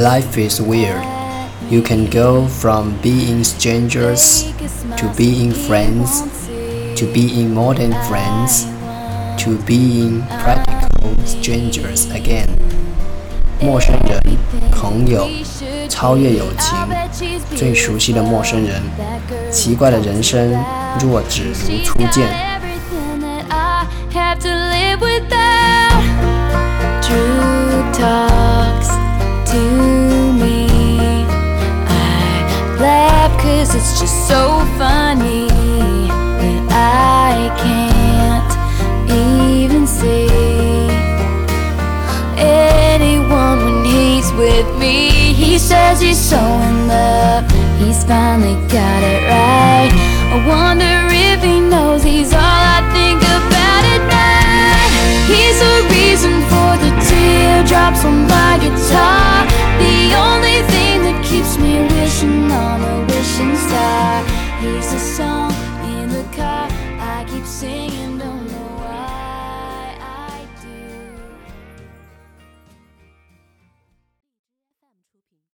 Life is weird. You can go from being strangers to being friends, to being more than friends, to being practical strangers again. 陌生人，朋友，超越友情，最熟悉的陌生人，奇怪的人生，若只如初见。 True talks to me. I laugh 'cause it's just so funny that I can't even see anyone when he's with me. He says he's so in love, he's finally got it right. I wonder